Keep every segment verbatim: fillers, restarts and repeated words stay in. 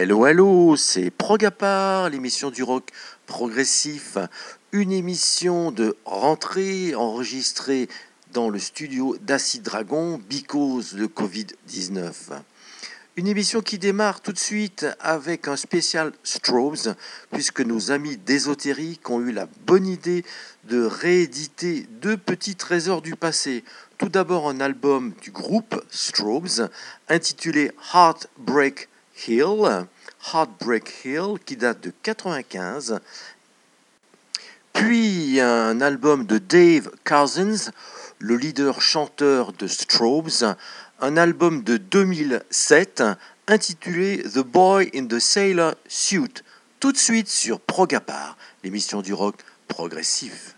Hello, hello, c'est Prog-à-part, l'émission du rock progressif, une émission de rentrée enregistrée dans le studio d'Acid Dragon, because de covid dix-neuf. Une émission qui démarre tout de suite avec un spécial Strobes, puisque nos amis d'Ésotérique ont eu la bonne idée de rééditer deux petits trésors du passé. Tout d'abord un album du groupe Strobes, intitulé Heartbreak Hill, Heartbreak Hill, qui date de quatre-vingt-quinze. Puis un album de Dave Cousins, le leader-chanteur de Strobes, un album de deux mille sept intitulé The Boy in the Sailor Suit. Tout de suite sur Prog-à-part, l'émission du rock progressif.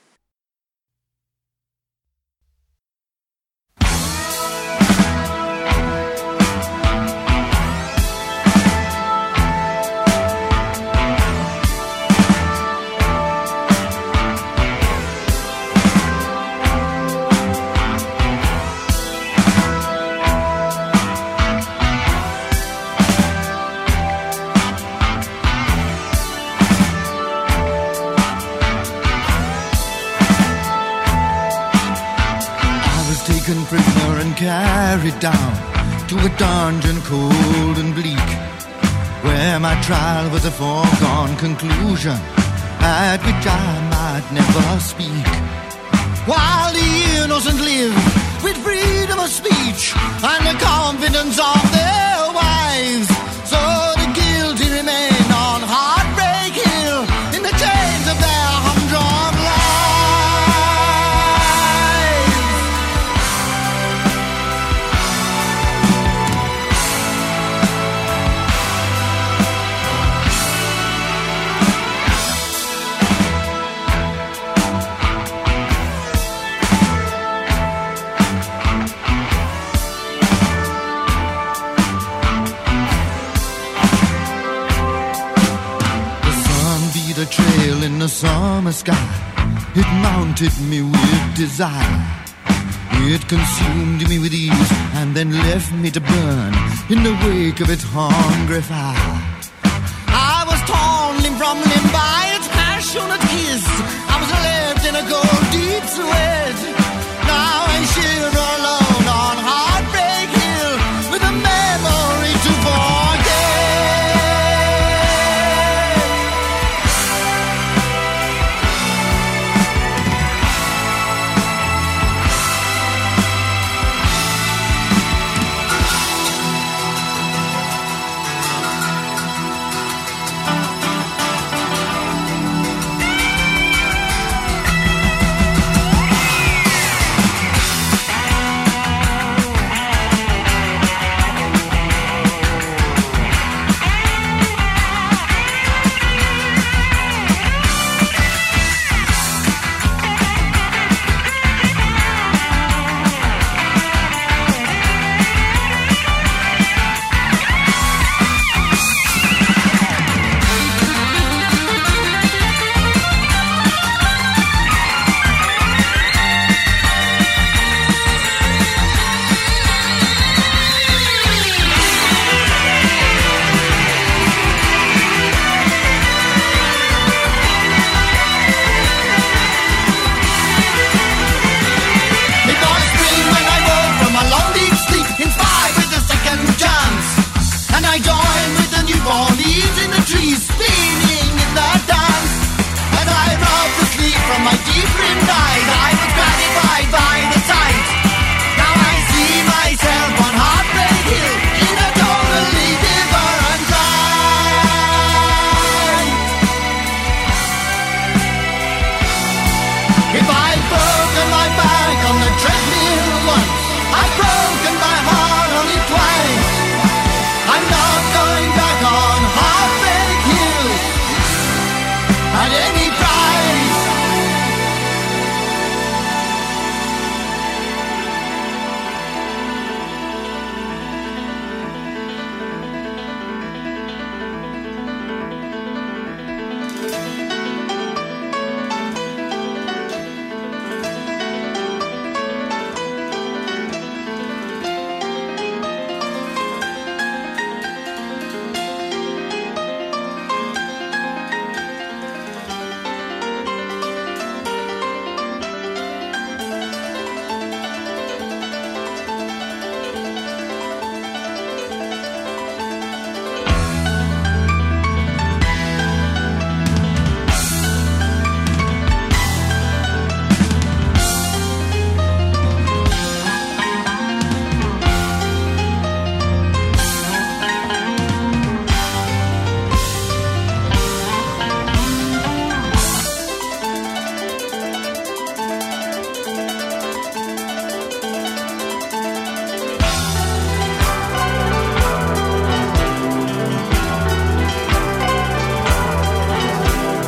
Prisoner and carried down to a dungeon cold and bleak, where my trial was a foregone conclusion at which I might never speak. While the innocent live with freedom of speech and the confidence of their wives, so the guilty remain on Heartbreak Hill in the chains of their humdrum lives. Trail in the summer sky, it mounted me with desire. It consumed me with ease and then left me to burn in the wake of its hungry fire. I was torn limb from limb by its passionate kiss. I was left in a cold deep sweat. Now I shiver alone on Heartbreak Hill with a memory to forget.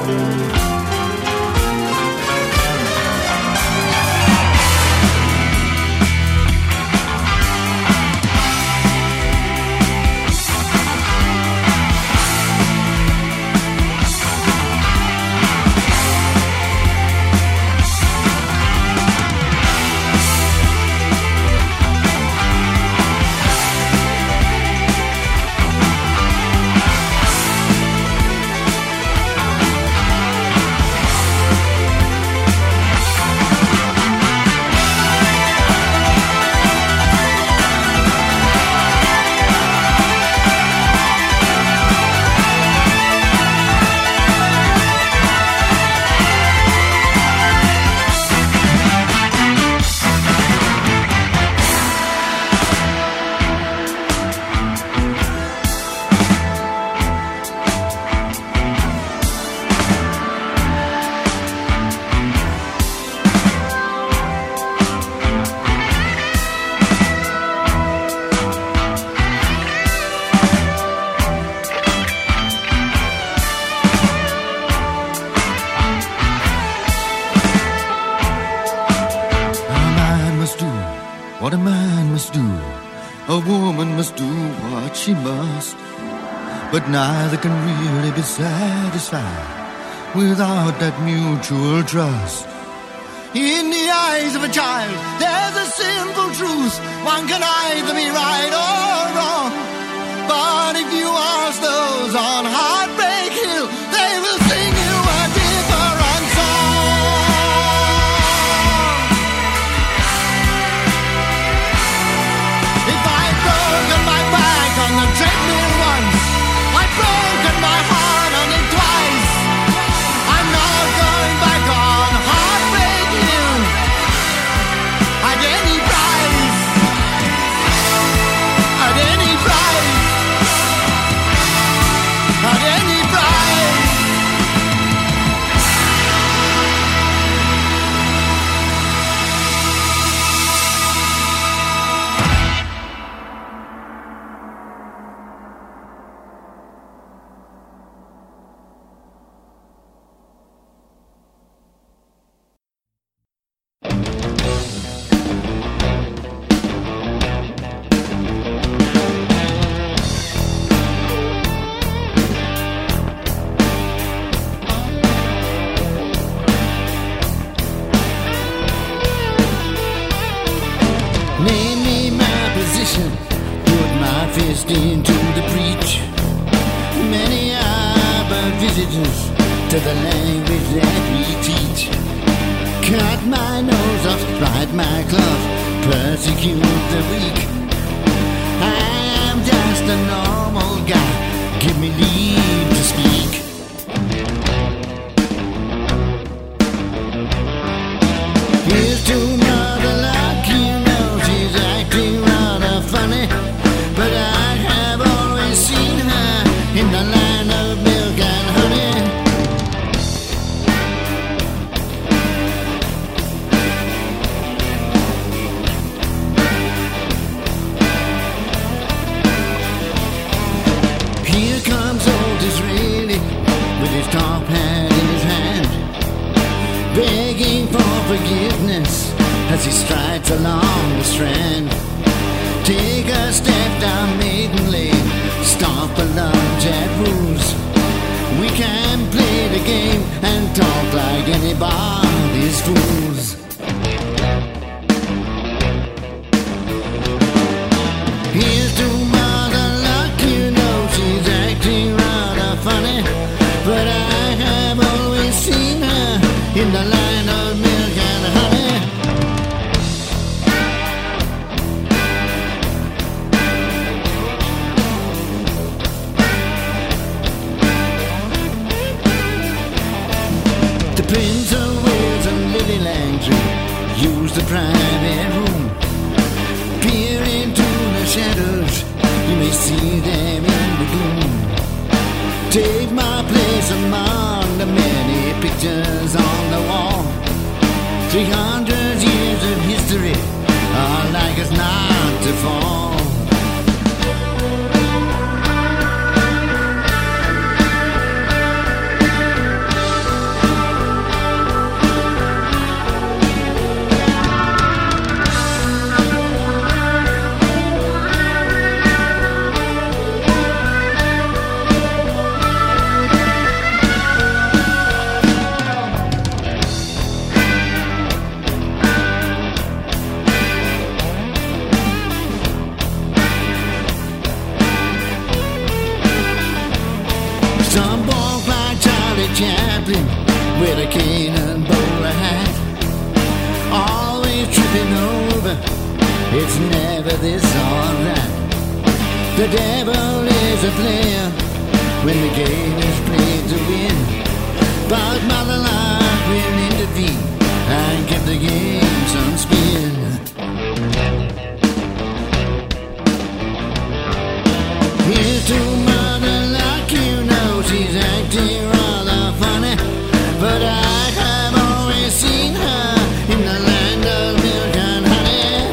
What a man must do, a woman must do what she must. But neither can really be satisfied without that mutual trust. In the eyes of a child, there's a simple truth. One can either be right or wrong. But if you ask those on Heartbreak Hill, they will sing you a different song. If I'd broken my back on the treadmill once, I'd broken my heart on it twice. I'm not going back on Heartbreak Hill at any price. At any price. At any price. Name me my position, put my fist into the breach. Many are but visitors to the language that we teach. Cut my nose off, write my cloth, persecute the weak. I am just a normal guy, give me leave to speak. Here's to Mother Luck, you know she's acting rather funny, but I have always seen her in the land of milk and honey. Here comes old Disraeli with his top hat in his hand, begging for forgiveness as he strides along the strand. Take a step down Maiden Lane, stop a lunch at Rules. We can play the game and talk like anybody's fools. Here's to Mother Luck, you know she's acting rather funny, but I have always seen her in the line of milk and honey. The Prince of Wales and Lily Langtry use the private room. Peer into the shadows, you may see them in the gloom. Take my place among the many pictures on the wall. Three hundred years of history are like us not to fall. with a cane and bowler hat, always tripping over, it's never this or that. The devil is a player when the game is played to win, but Mother Love will intervene and give the game some spin. Here's to Mother Luck, you know she's acting rather funny, but I have always seen her in the land of milk and honey.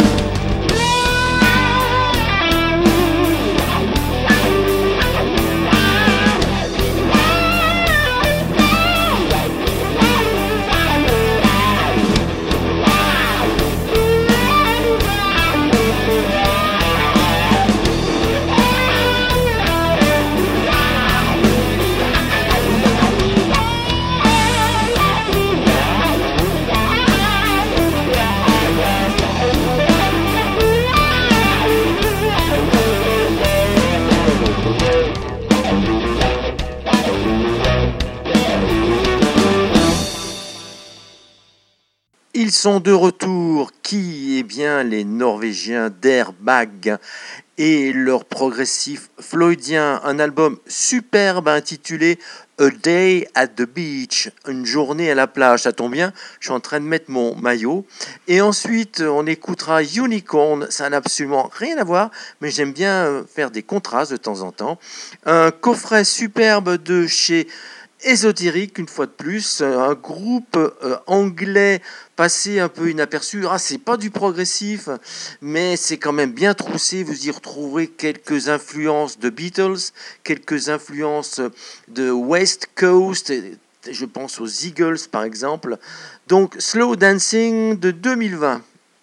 Ils sont de retour. Qui? Eh bien, les Norvégiens d'Airbag et leur progressif floydien. Un album superbe intitulé A Day at the Beach, une journée à la plage. Ça tombe bien, je suis en train de mettre mon maillot. Et ensuite, on écoutera Unicorn. Ça n'a absolument rien à voir, mais j'aime bien faire des contrastes de temps en temps. Un coffret superbe de chez Ésotérique, une fois de plus, un groupe euh, anglais passé un peu inaperçu. Ah, c'est pas du progressif, mais c'est quand même bien troussé. Vous y retrouverez quelques influences de Beatles, quelques influences de West Coast, je pense aux Eagles par exemple. Donc Slow Dancing de deux mille vingt.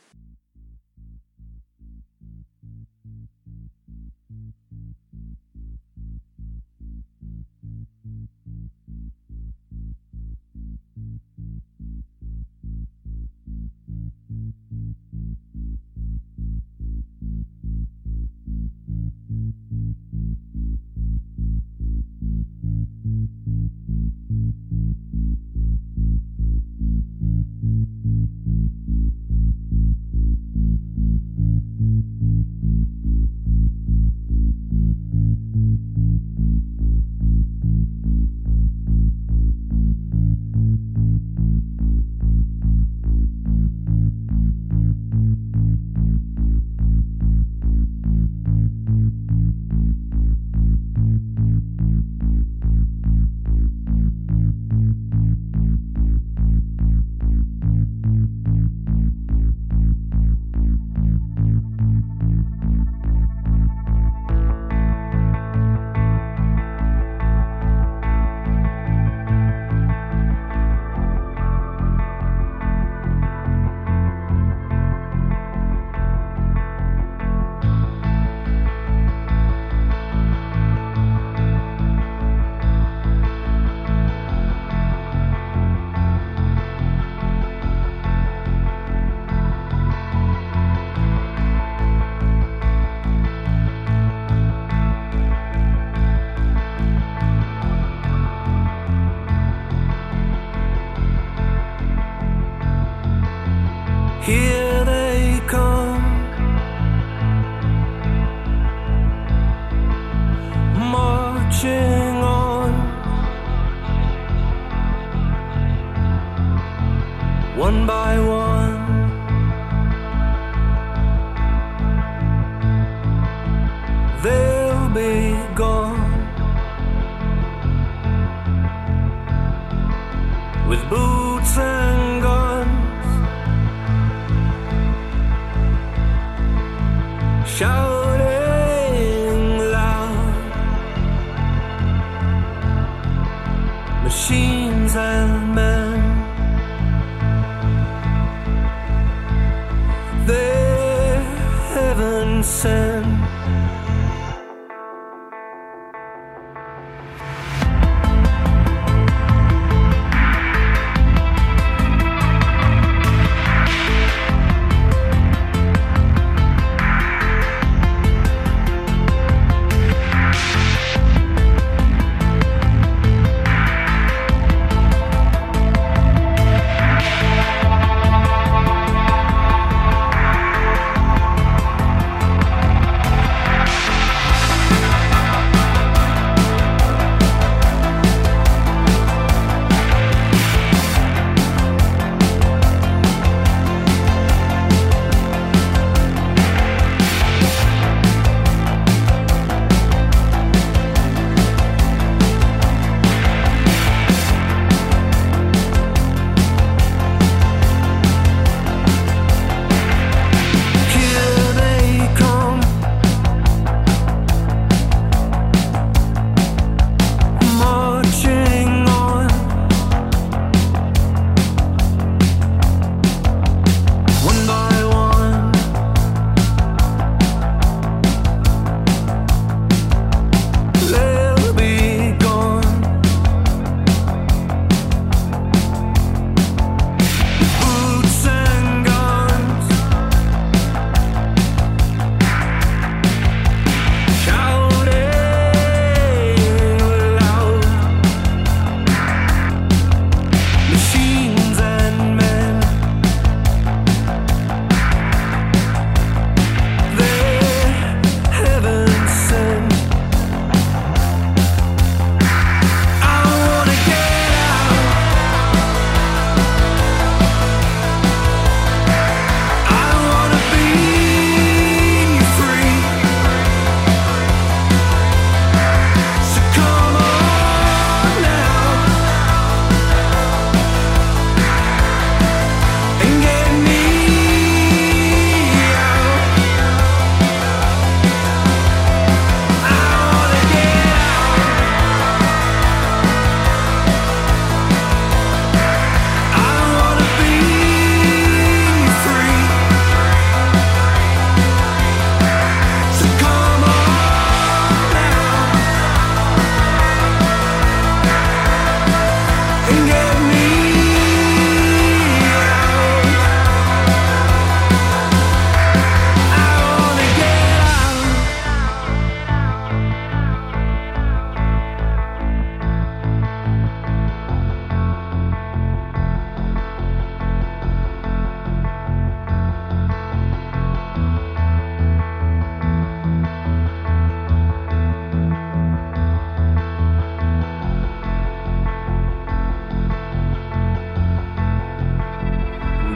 Here they come, marching on, one by one. They'll be gone, with boots and guns, shouting loud, machines and men, they're heaven sent.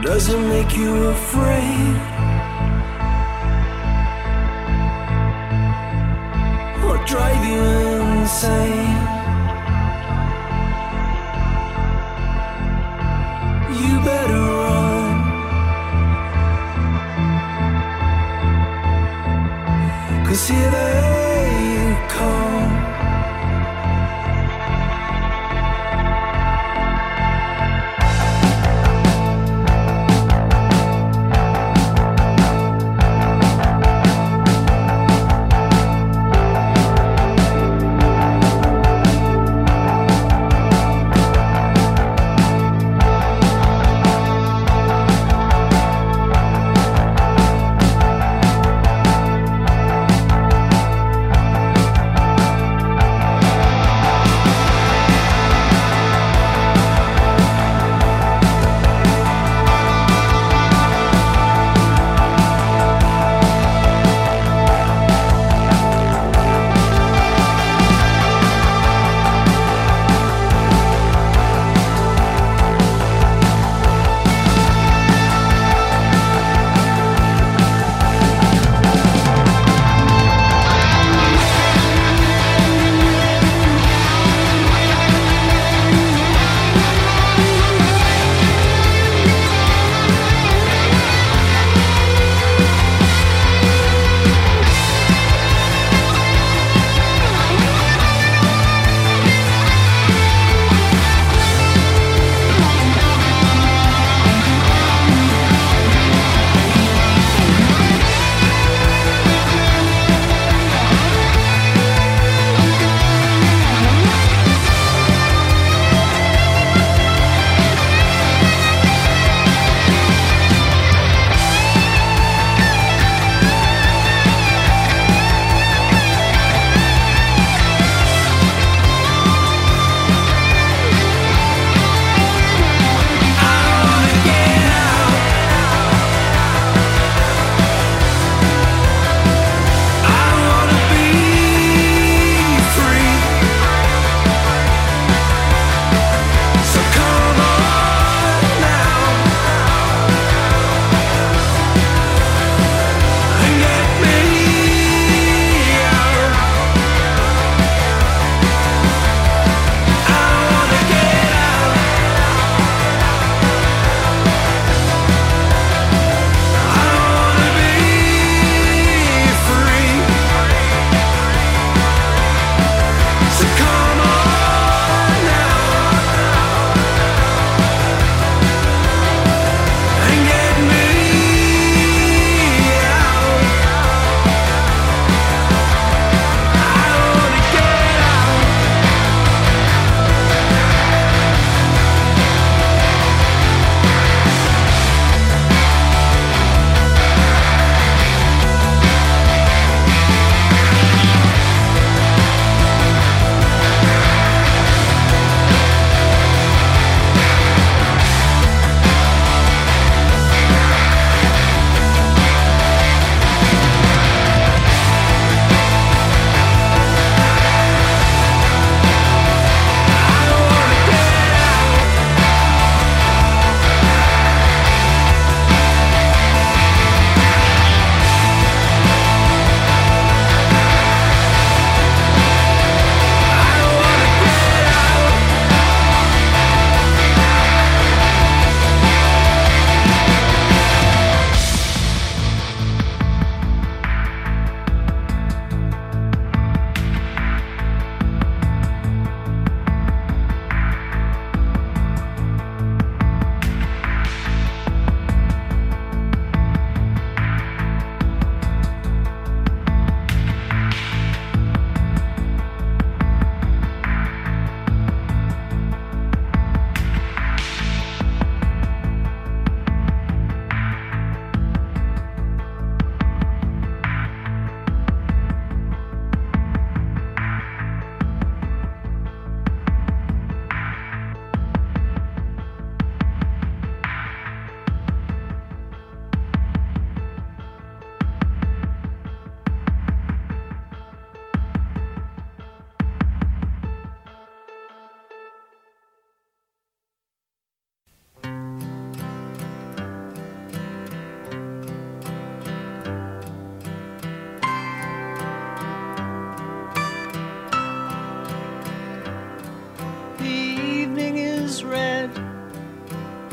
Does it make you afraid? Or drive you insane? You better run, 'cause here they come.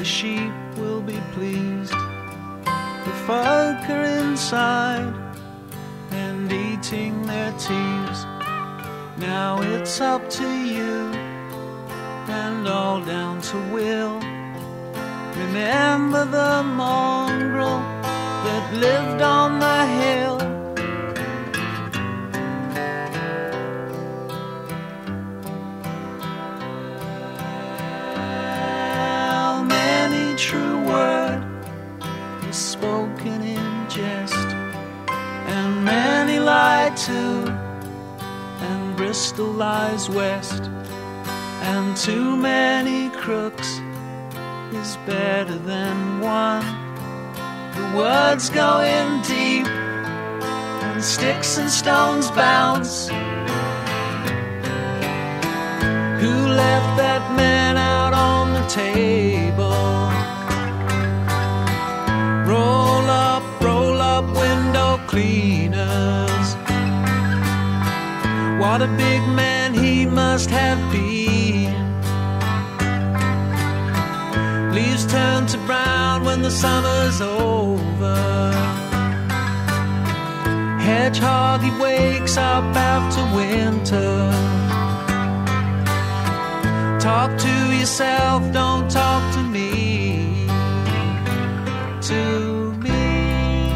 the sheep will be pleased. The folk are inside and eating their teas. Now it's up to you and all down to Will. Remember the mongrel that lived on the hill. Well, many true word is spoken in jest, and many lie too, and Bristol lies west, and too many crooks is better than one. The words go in deep and sticks and stones bounce. Who left that man out on the table? Roll up, roll up window cleaners. What a big man he must have been. Leaves turn to brown when the summer's over. Hedgehog, he wakes up after winter. Talk to yourself, don't talk to me. To me.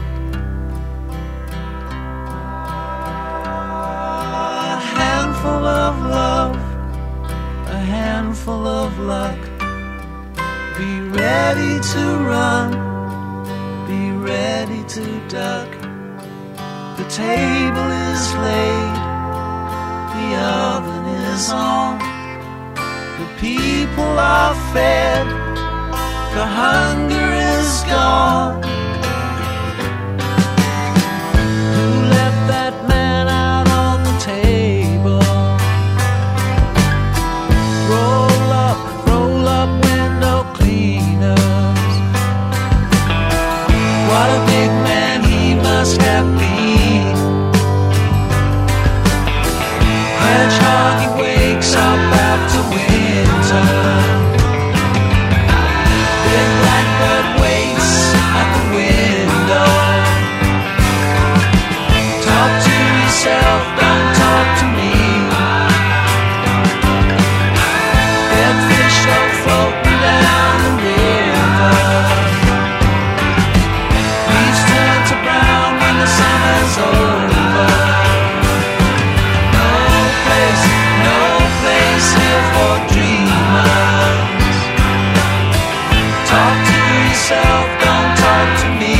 A handful of love, a handful of luck. Be ready to run, be ready to duck. The table is laid, the oven is on. The people are fed, the hunger is gone. Who left that man out on the table? Roll up, roll up window cleaners. What a big man he must have been. Hedgehog, he wakes up after winter. Big blackbird waits at the window. Talk to yourself, don't talk to me. Dead fish go floating down the river. Leaves turn to brown when the summer's over. No place, no place here for dreamers. Talk to yourself, don't talk to me.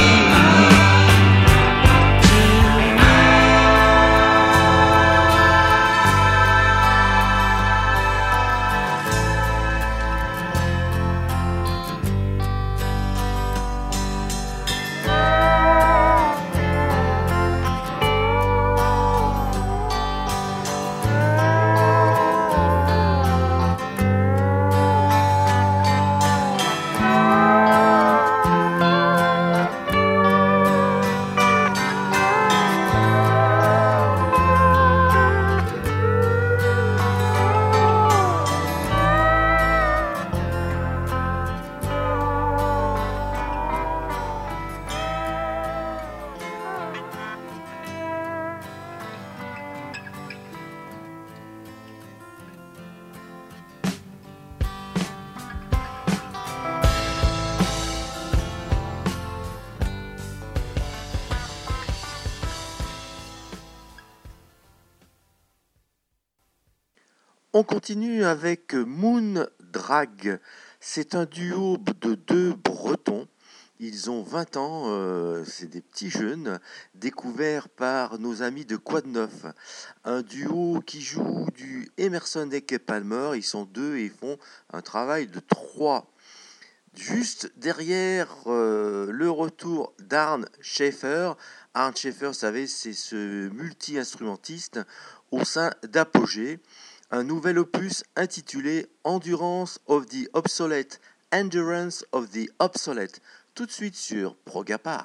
On continue avec Moon Drag. C'est un duo de deux Bretons. Ils ont vingt ans, euh, c'est des petits jeunes, découverts par nos amis de Quad neuf. Un duo qui joue du Emerson Lake Palmer. Ils sont deux et ils font un travail de trois. Juste derrière euh, le retour d'Arne Schaeffer. Arne Schaeffer, vous savez, c'est ce multi-instrumentiste au sein d'Apogée. Un nouvel opus intitulé Endurance of the Obsolete, Endurance of the Obsolete, tout de suite sur Progapar.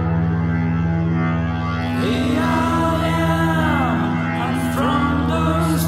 Hey, I am, I'm from the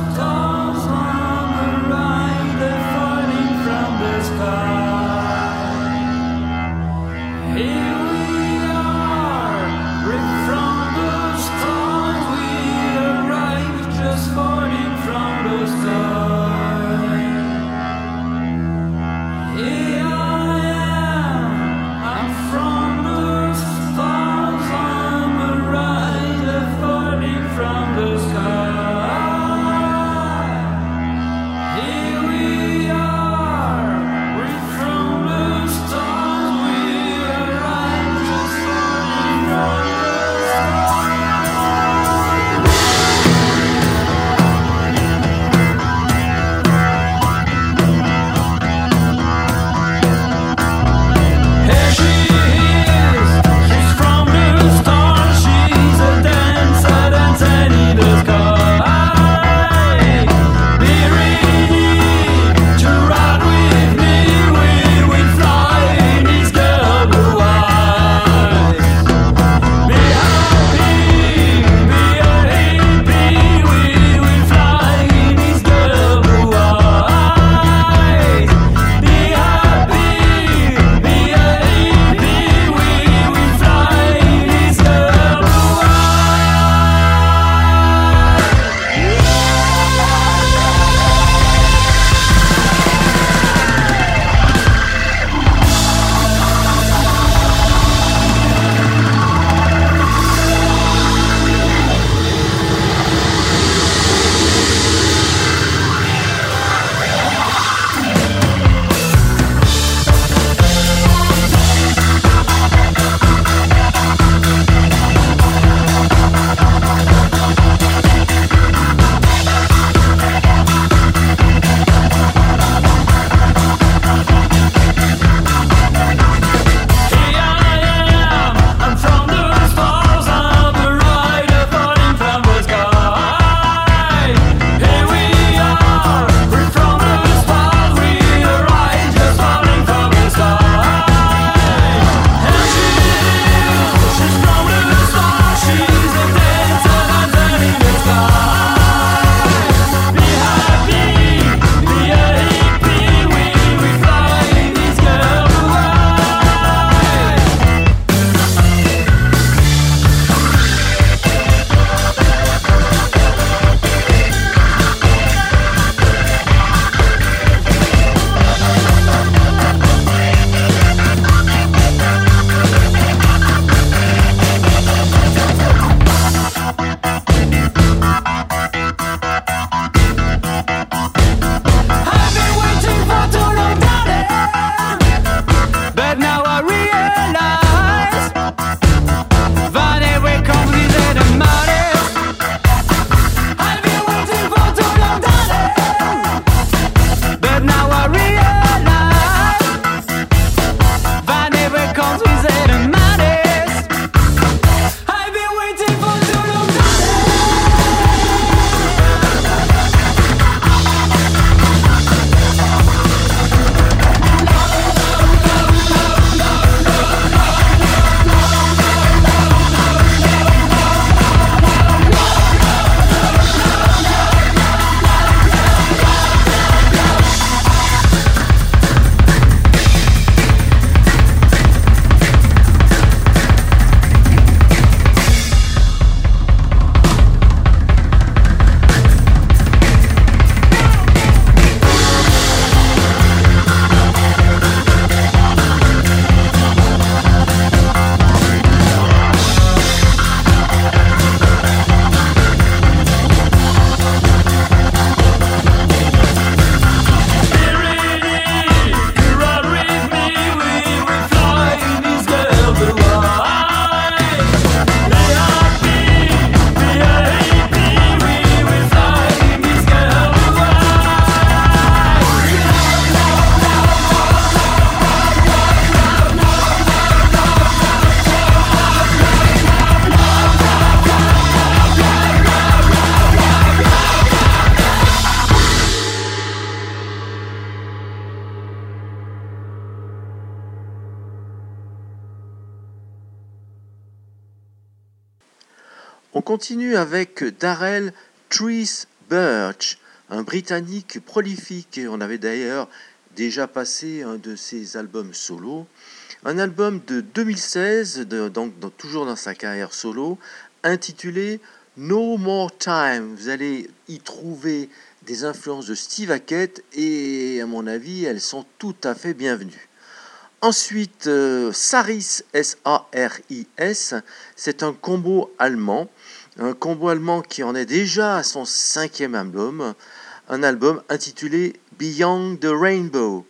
On continue avec Darrell Trees Birch, un Britannique prolifique. On avait d'ailleurs déjà passé un de ses albums solo. Un album de deux mille seize, de, donc dans, toujours dans sa carrière solo, intitulé No More Time. Vous allez y trouver des influences de Steve Hackett et à mon avis, elles sont tout à fait bienvenues. Ensuite, euh, Saris, S A R I S, c'est un combo allemand. Un combo allemand qui en est déjà à son cinquième album. Un album intitulé Beyond the Rainbow.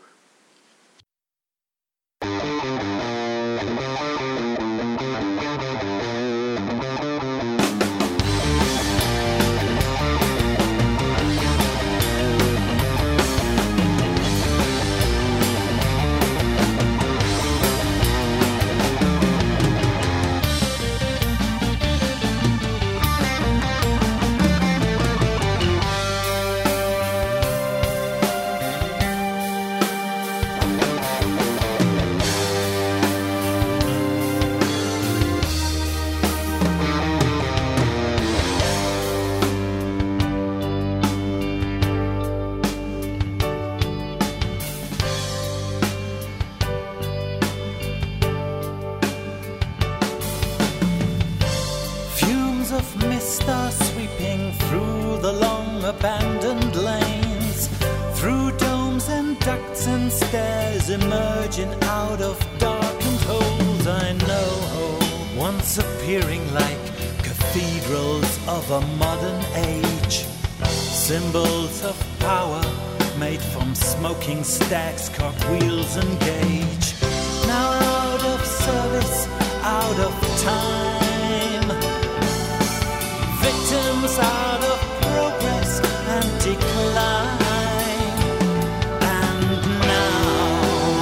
Abandoned lanes, through domes and ducts and stairs, emerging out of darkened holes I know, once appearing like cathedrals of a modern age, symbols of power made from smoking stacks, cartwheels and gauge, now out of service, out of time, victims out of progress and decline, and now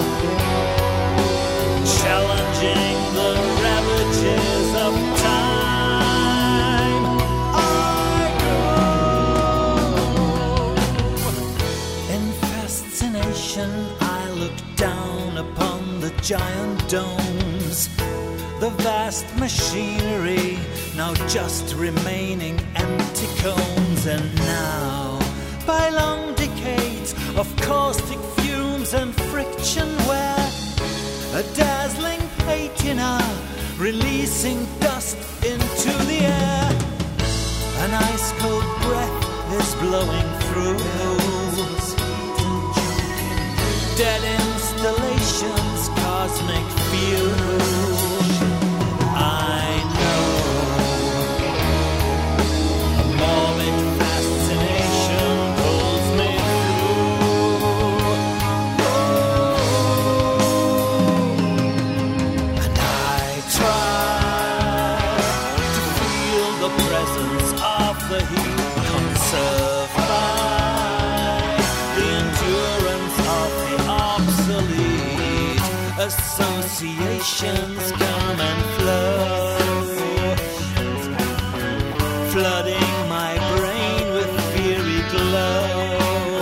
challenging the ravages of time, I go. In fascination I look down upon the giant domes, the vast machinery now just remaining empty cones, and now by long decades of caustic fumes and friction where a dazzling patina releasing dust into the air, an ice cold breath is blowing through, dead installations, cosmic fumes. I know a morbid fascination pulls me through, and I try to feel the presence of the heat conserved by the endurance of the obsolete. Associations come and flow, flooding my brain with fiery glow.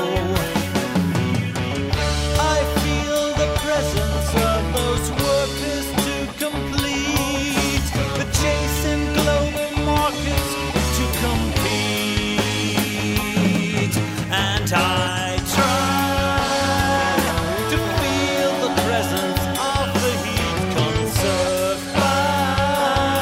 I feel the presence of those workers to complete the chase in global markets to compete, and I try to feel the presence of the heat conserved by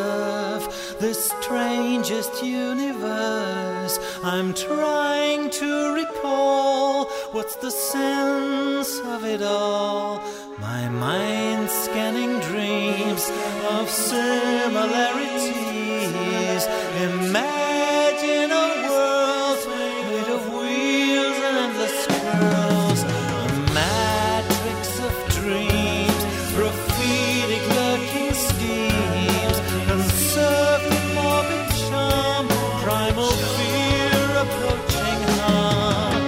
observe the strangest universe. I'm trying to recall what's the sense of it all. My mind scanning dreams of similarities. Imagine a world made of wheels and endless curls. A matrix of dreams, prophetic lurking schemes, conservative morbid charm, primal fear approaching harm.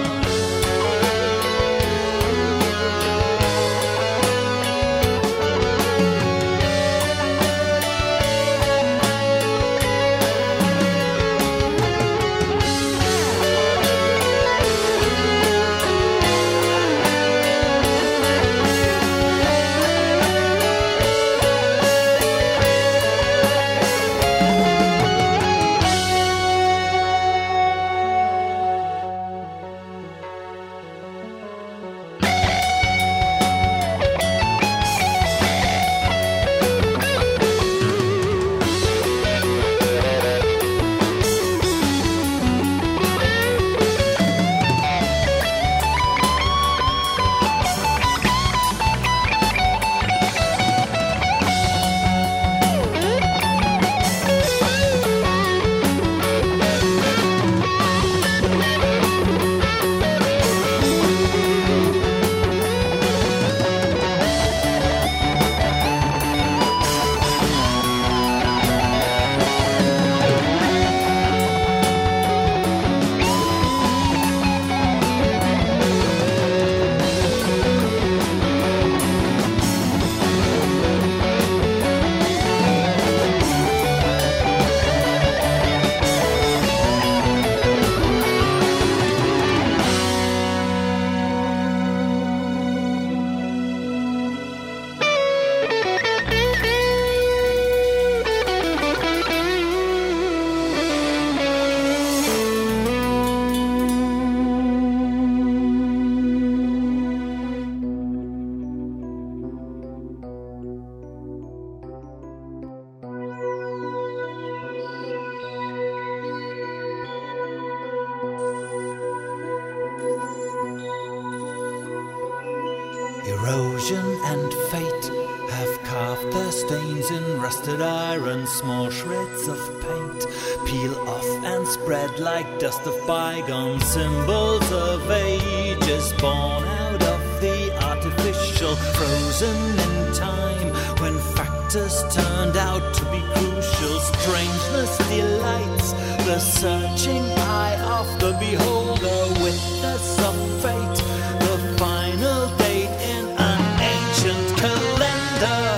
Erosion and fate have carved their stains in rusted iron. Small shreds of paint peel off and spread like dust of bygone symbols of ages born out of the artificial, frozen in time when factors turned out to be crucial. Strangeness delights the searching eye of the beholder. Witness of fate, the final date in an ancient calendar.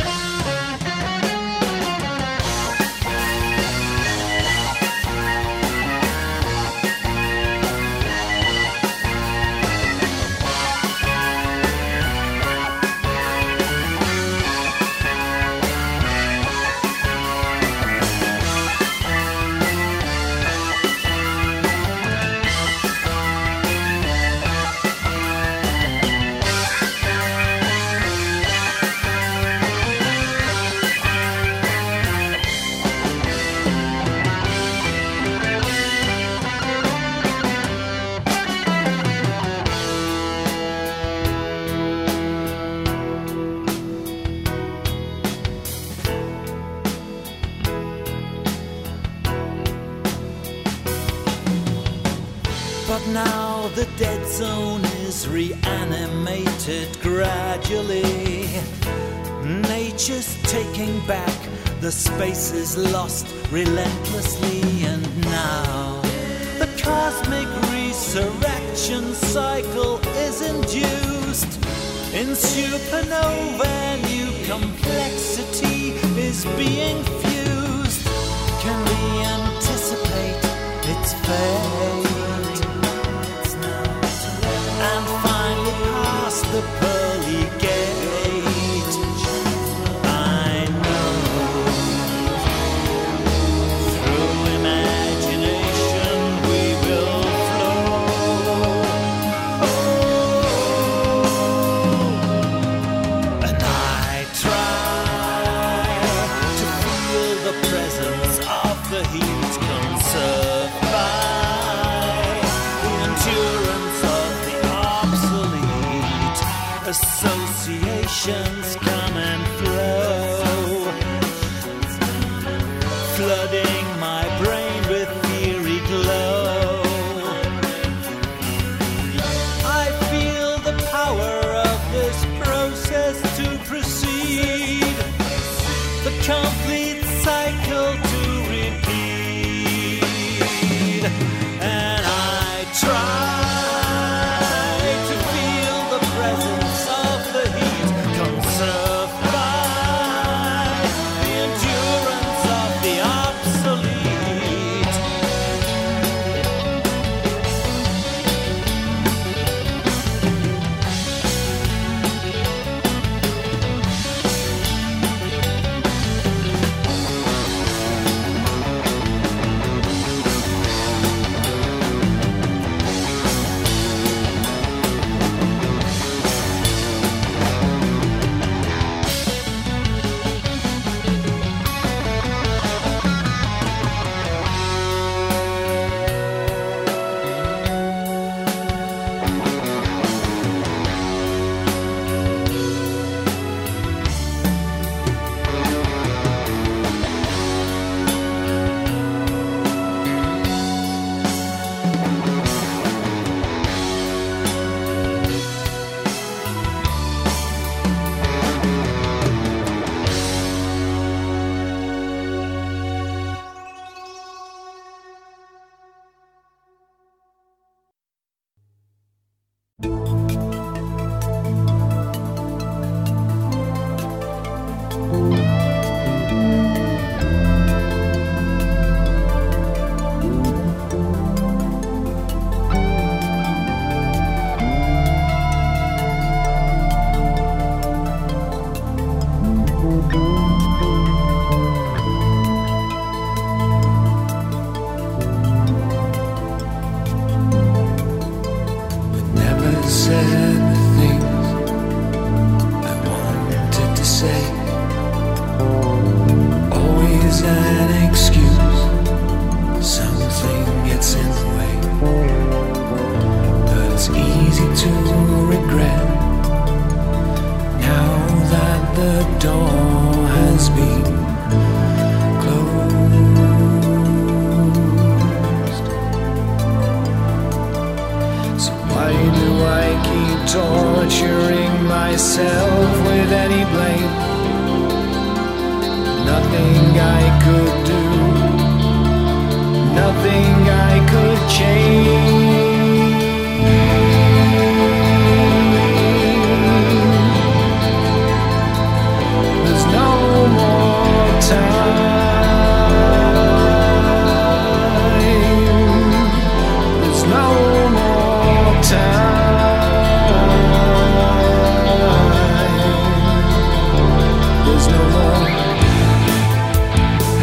But now the dead zone is reanimated gradually. Nature's taking back the spaces lost relentlessly. And now the cosmic resurrection cycle is induced. In supernova, new complexity is being fused. Can we anticipate its fate? And finally pass the pearly gate. I know through imagination we will flow. Oh, and I try to feel emotions come and flow, flooding my brain with fiery glow. I feel the power of this process to proceed, the complete cycle to repeat, and I try There's no more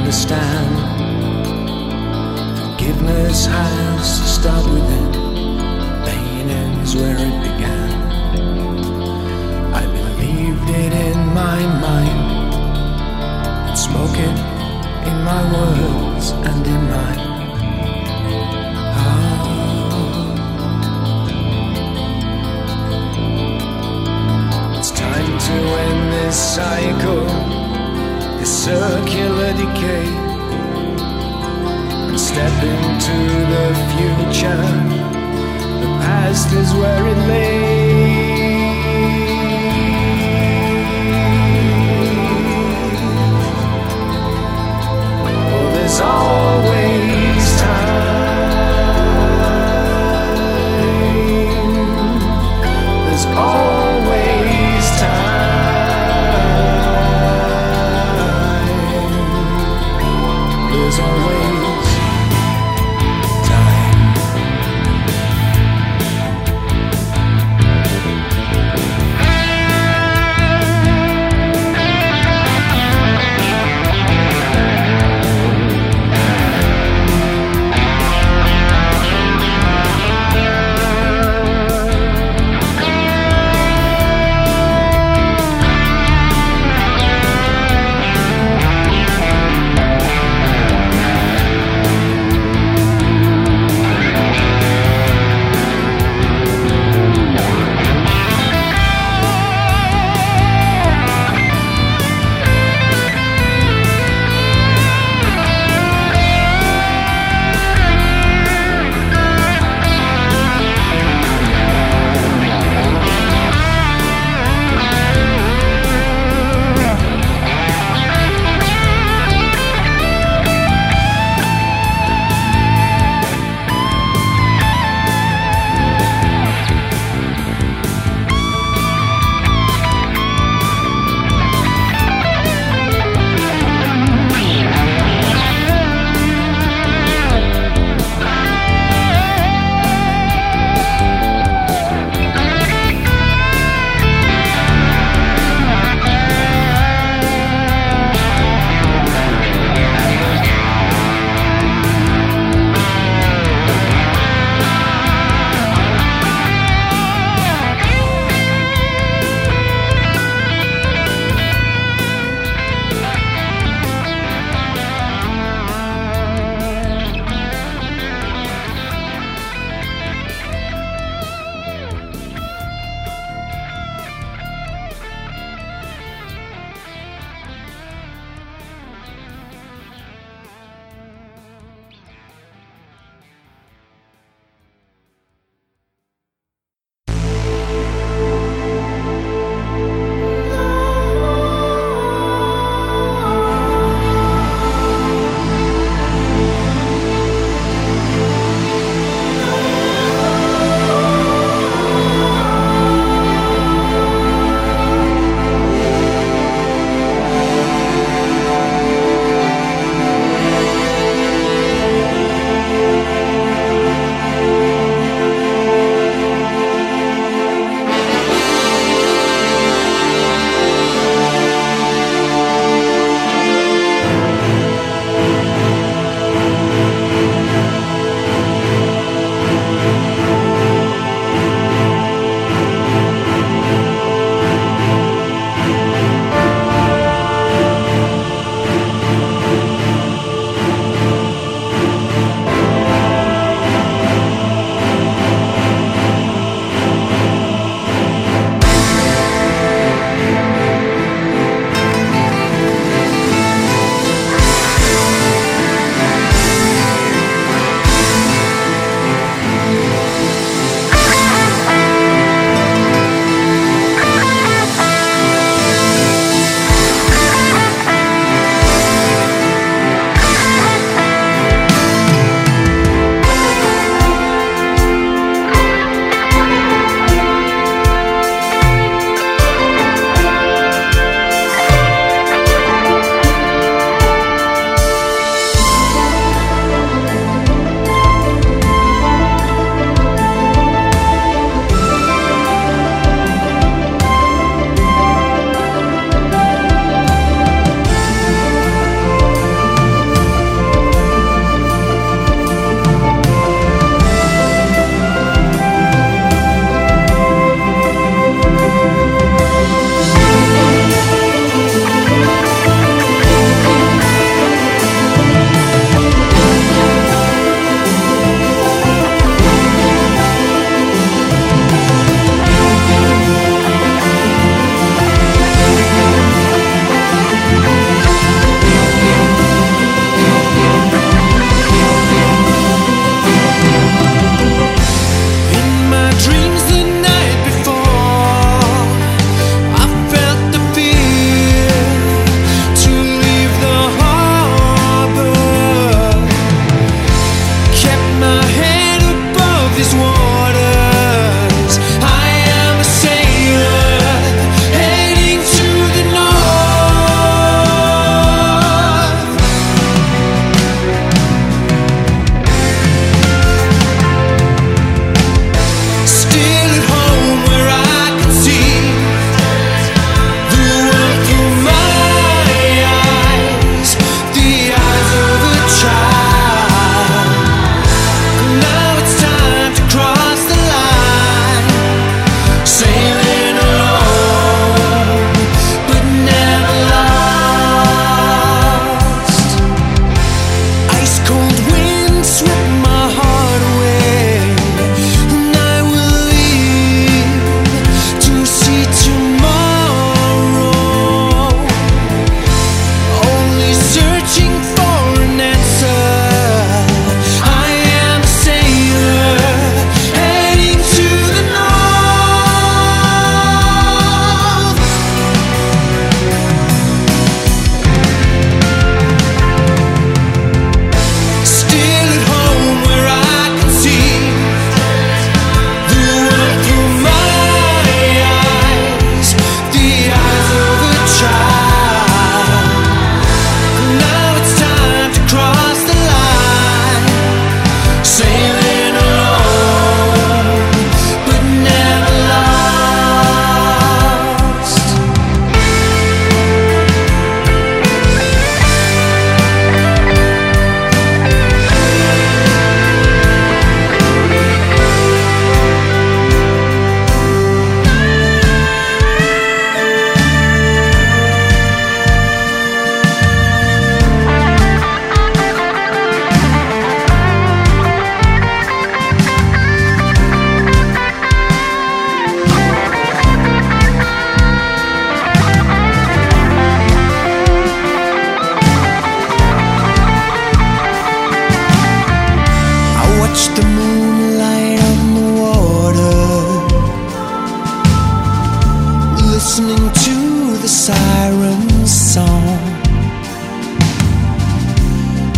understand. Forgiveness has to start within. Pain ends where it began. I believed it in my mind and spoke it in my words and in my heart. It's time to end this cycle, this circular decay, and step into the future. The past is where it lay. Oh, there's always time. There's always time. There's always time.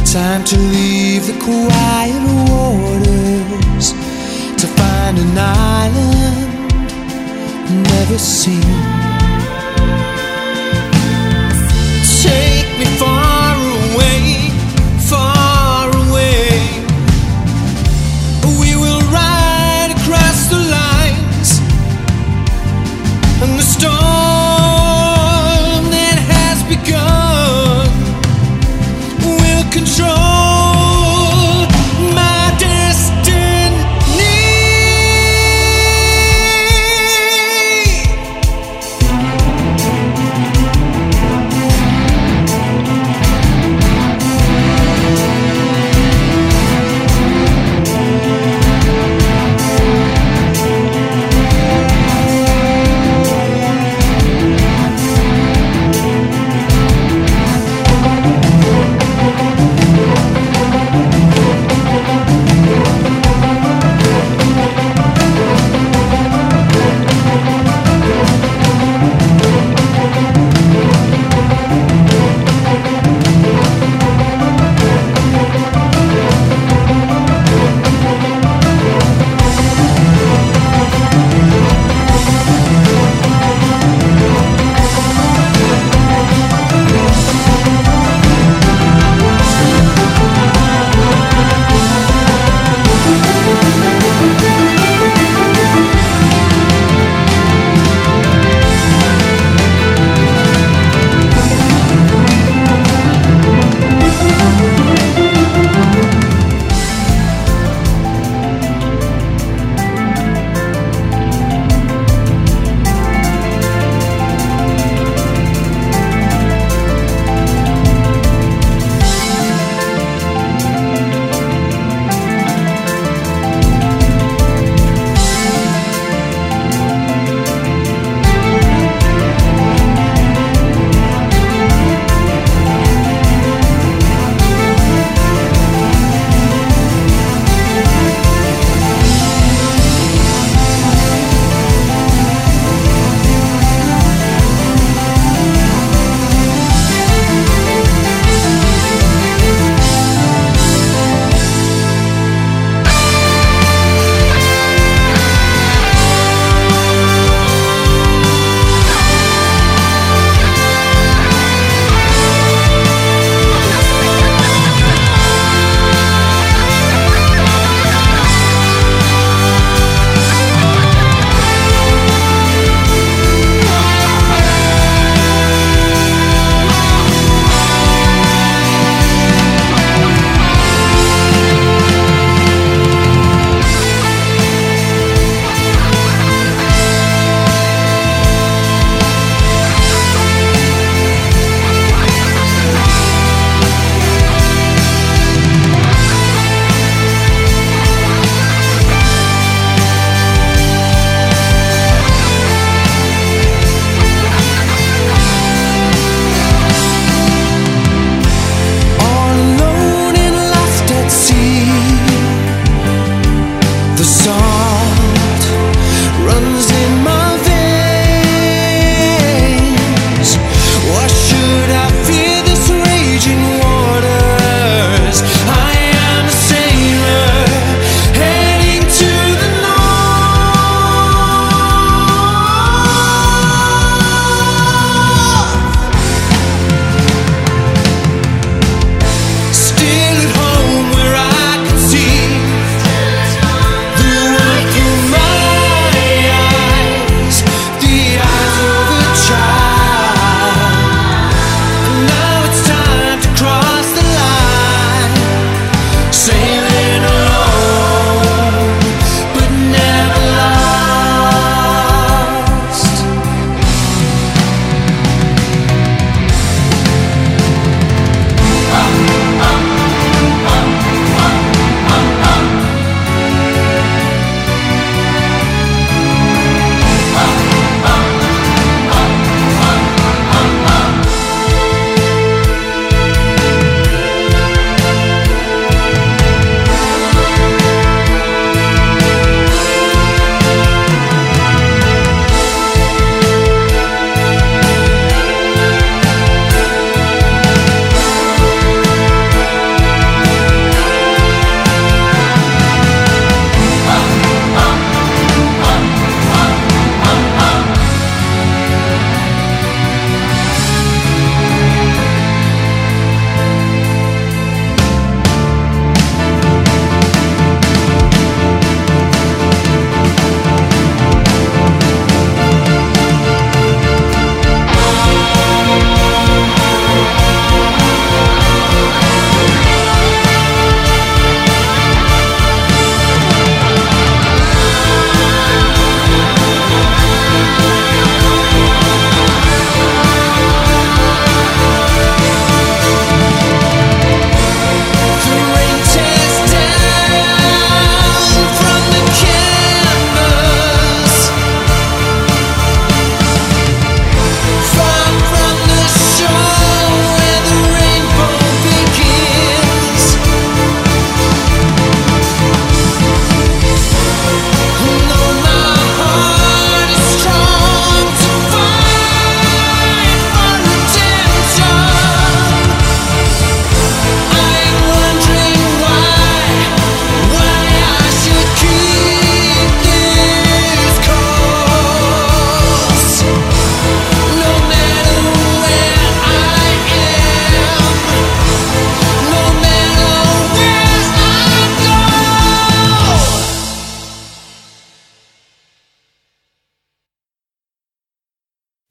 Time to leave the quiet waters to find an island never seen. Take me far away, far away. We will ride across the lines, and the storm that has begun will control my destiny.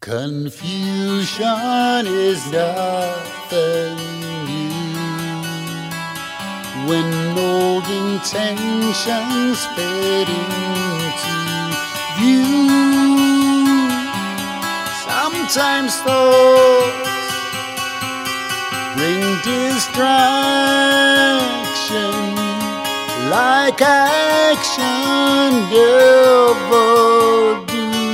Confusion is nothing new when old intentions fade into view. Sometimes thoughts bring distraction, like action never do.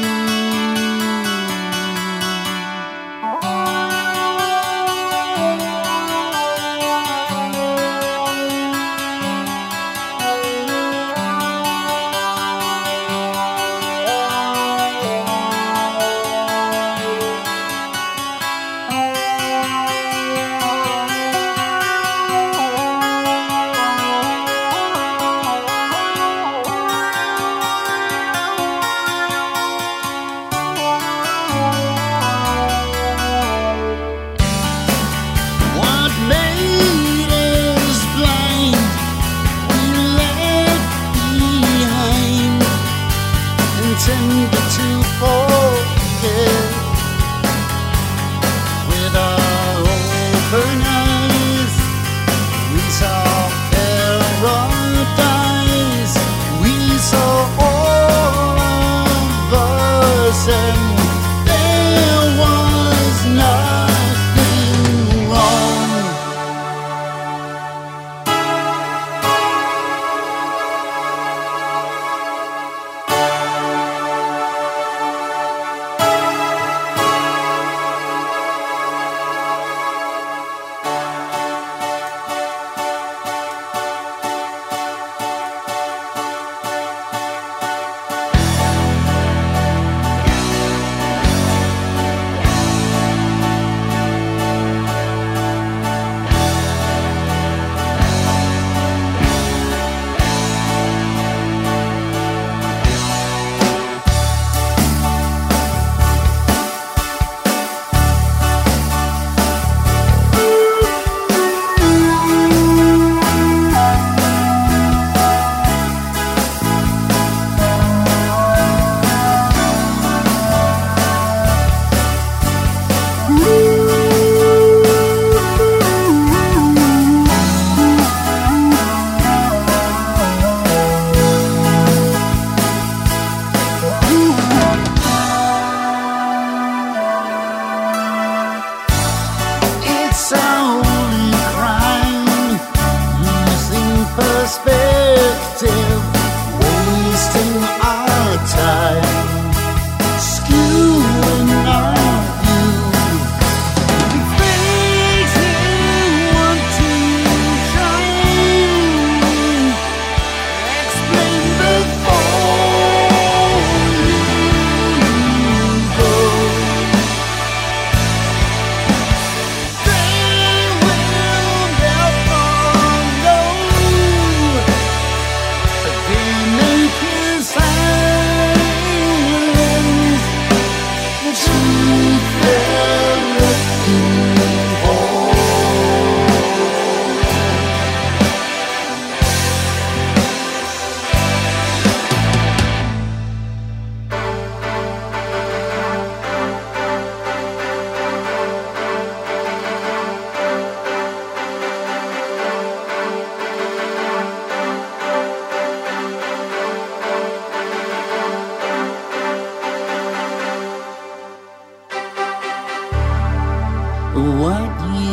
what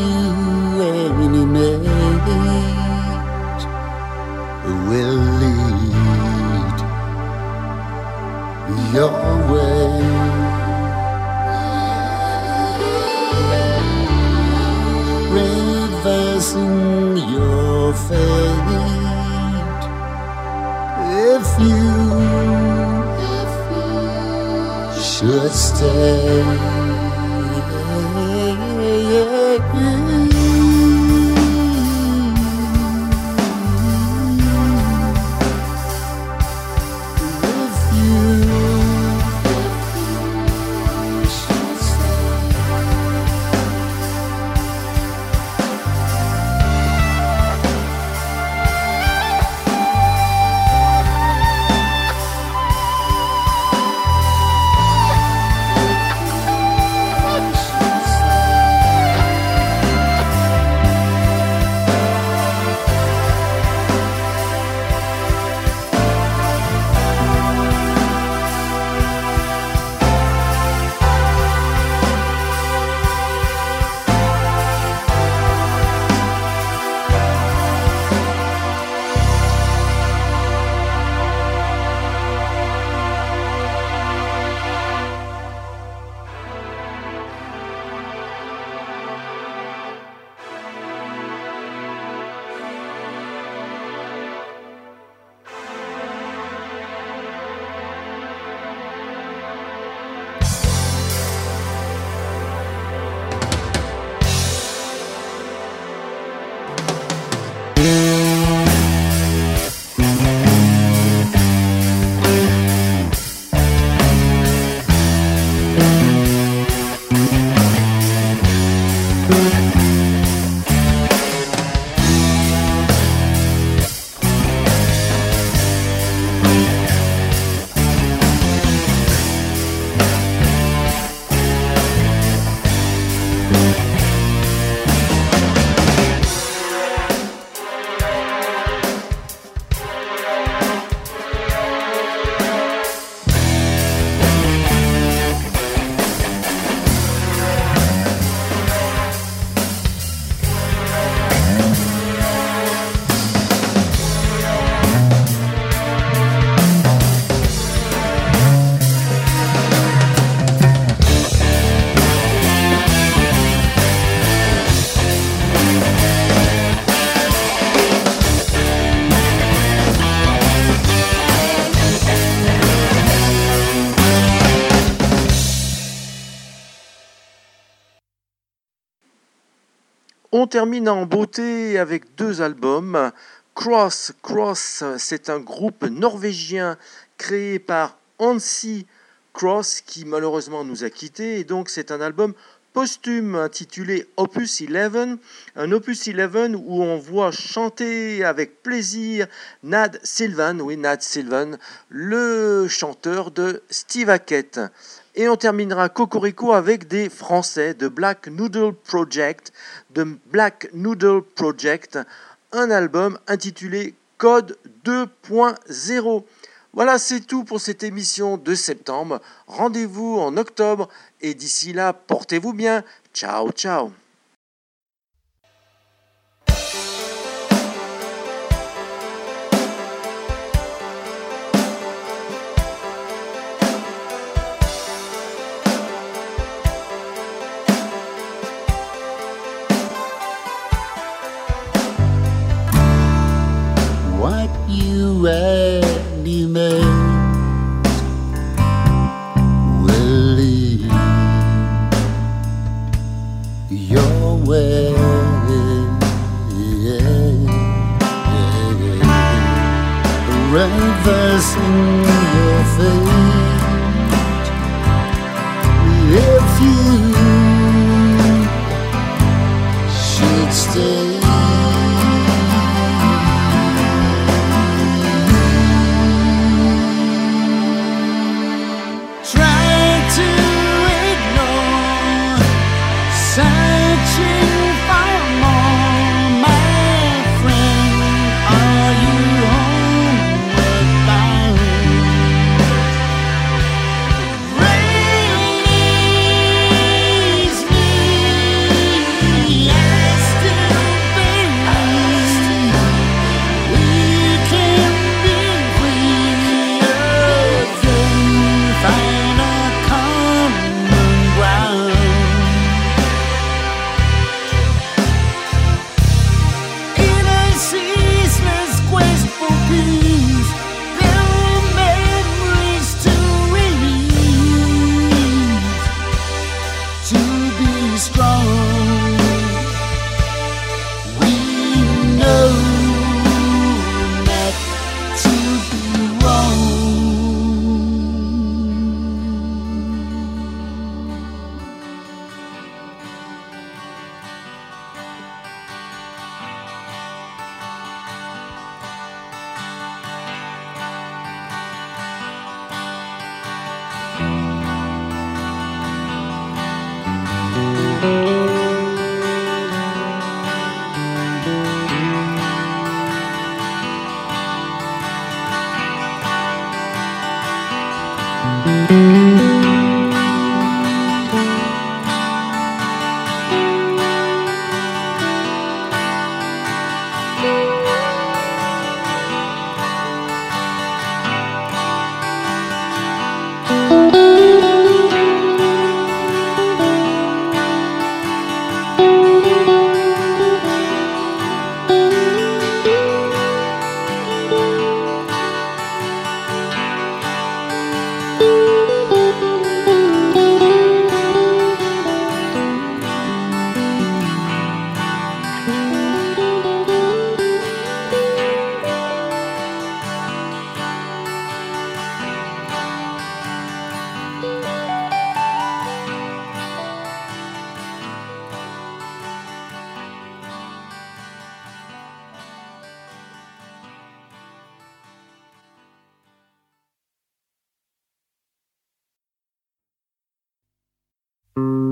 you animate will lead your way. Reversing your fate if you, if you should stay. On termine en beauté avec deux albums. Cross, Cross, c'est un groupe norvégien créé par Hansi Cross qui malheureusement nous a quittés. Et donc c'est un album posthume intitulé Opus eleven, un Opus eleven où on voit chanter avec plaisir Nad Sylvan, oui Nad Sylvan, le chanteur de Steve Hackett. Et on terminera Cocorico avec des Français de Black Noodle Project, de Black Noodle Project, un album intitulé Code deux point zéro. Voilà, c'est tout pour cette émission de septembre. Rendez-vous en octobre et d'ici là, portez-vous bien. Ciao, ciao. What you really meant will lead your way. Reversing your fate if you should stay. Thank you.